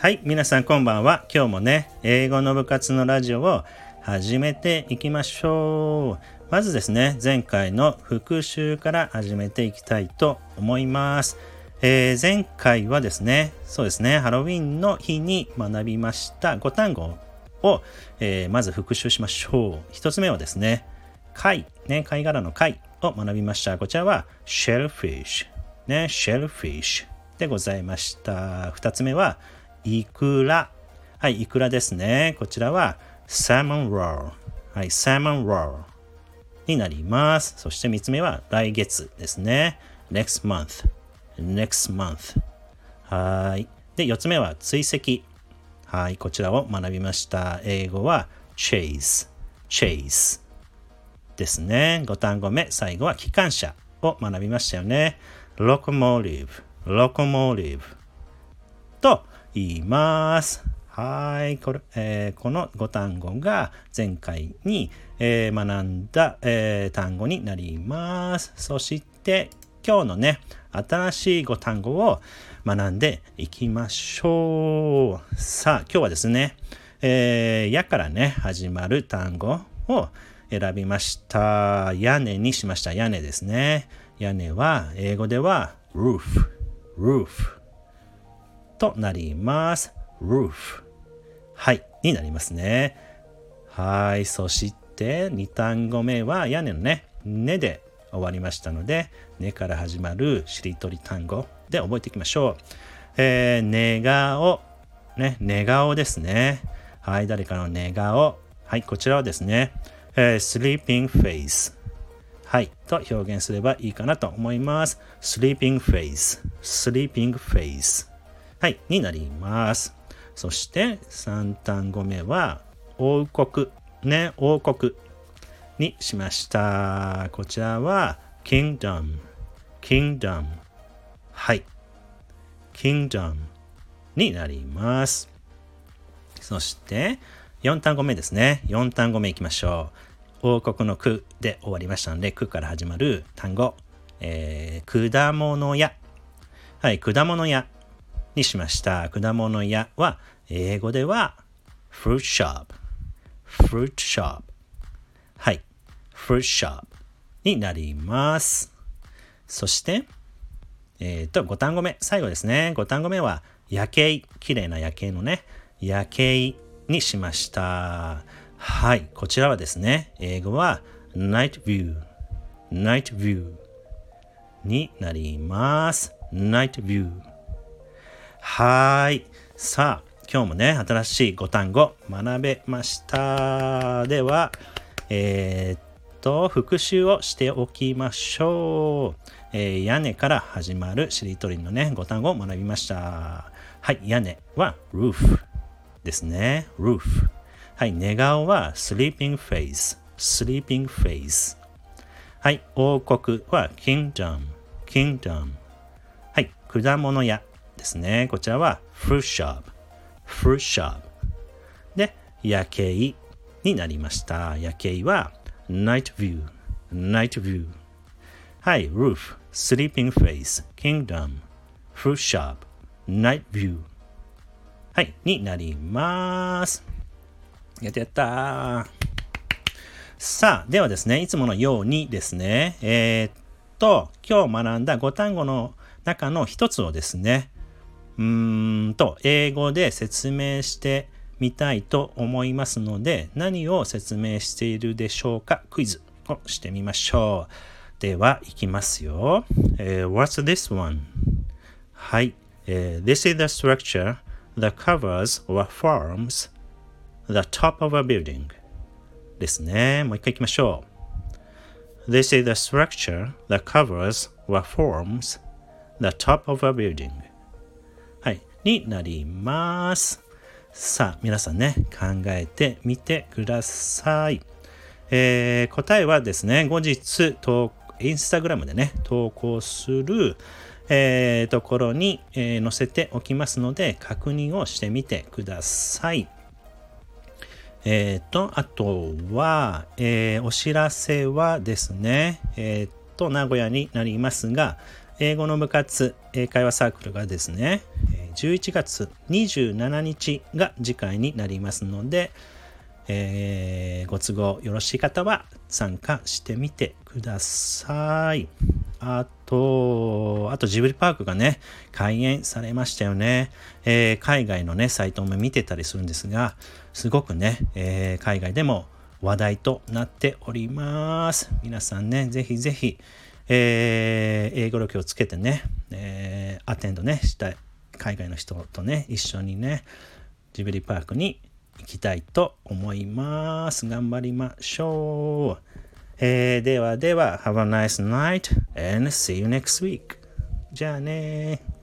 はい、皆さんこんばんは。今日もね、英語の部活のラジオを始めていきましょう。まずですね、前回の復習から始めていきたいと思います。前回はですね、そうですね、ハロウィンの日に学びました5単語を、まず復習しましょう。一つ目はですね、貝殻の貝を学びました。こちらは shellfish、shellfish でございました。二つ目はイクラ。はい、イクラですね。こちらは salmon roll。はい、salmon roll になります。そして3つ目は来月ですね。next month。はい。で、4つ目は追跡。はい、こちらを学びました。英語は chase ですね。5単語目、最後は機関車を学びましたよね。locomotive と言います。はい、この5単語が前回に、学んだ、単語になります。そして今日のね、新しい5単語を学んでいきましょう。さあ、今日はですね、やからね、始まる単語を選びました。屋根にしました。屋根ですね。屋根は英語では roof となります。roof。はい、になりますね。はい、そして2単語目は屋根のね、根で終わりましたので、根から始まるしりとり単語で覚えていきましょう。寝顔ですね。はい、誰かの寝顔。はい、こちらはですね、sleeping face。はい、と表現すればいいかなと思います。sleeping face。はい、になります。そして3単語目は王国にしました。こちらは kingdom。はい、kingdom になります。そして4単語目ですね。4単語目いきましょう。王国の句で終わりましたので、句から始まる単語、果物屋。はい、果物屋にしました。果物屋は英語では fruit shop。はい、fruit shop になります。そして5単語目、最後ですね。5単語目は夜景、綺麗な夜景のね、夜景にしました。はい、こちらはですね、英語は night view になります。night view。はい。さあ、今日もね、新しい5単語学べました。では、復習をしておきましょう。屋根から始まるしりとりのね、5単語を学びました。はい、屋根は roof ですね。roof。はい、寝顔は sleeping face。はい、王国は kingdom。はい、果物屋ですね。こちらは fruit shop。で、夜景になりました。夜景は night view。はい、roof、sleeping face、kingdom、fruit shop、night view。はい、になります。やったさあ、ではですね、いつものようにですね、今日学んだ5単語の中の一つをですね、英語で説明してみたいと思いますので、何を説明しているでしょうか？クイズをしてみましょう。では、いきますよ。What's this one? はい。This is the structure that covers or forms the top of a building ですね。もう一回いきましょう。This is the structure that covers or forms the top of a building はい。になります。さあ、皆さんね、考えてみてください。答えはですね、後日インスタグラムでね、投稿する、ところに、載せておきますので、確認をしてみてください。あとは、お知らせはですね、名古屋になりますが、英語の部活、英会話サークルがですね、 11月27日が次回になりますので、ご都合よろしい方は参加してみてください。あとジブリパークがね、開園されましたよね。海外のね、サイトも見てたりするんですが、すごくね、海外でも話題となっております。皆さんね、ぜひぜひ、英語力をつけてね、アテンドね、したい海外の人とね、一緒にね、ジブリパークに行きたいと思います。頑張りましょう。ではでは、Have a nice night and see you next week. じゃあね。